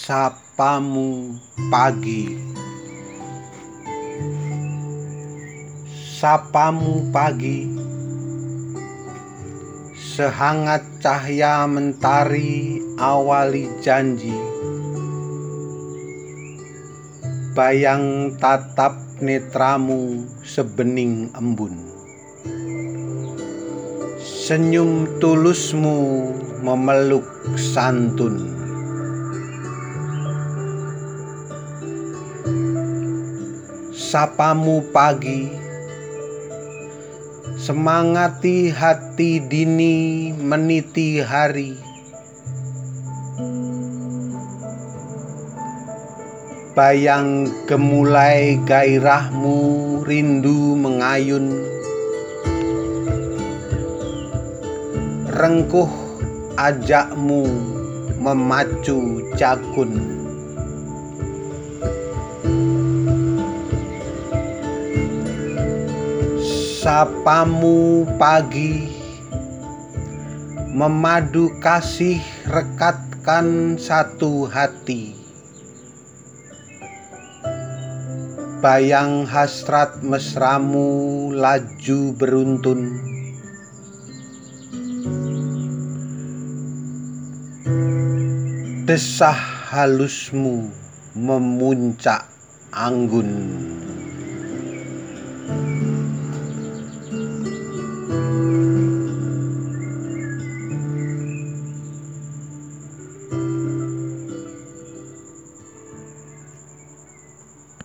Sapamu pagi, sapamu pagi, sehangat cahaya mentari awali janji. Bayang tatap netramu sebening embun. Senyum tulusmu memeluk santun. Sapamu pagi, semangati hati dini meniti hari. Bayang gemulai gairahmu rindu mengayun. Rengkuh ajakmu memacu jakun. Sapamu pagi, memadu kasih rekatkan satu hati. Bayang hasrat mesramu laju beruntun. Desah halusmu memuncak anggun.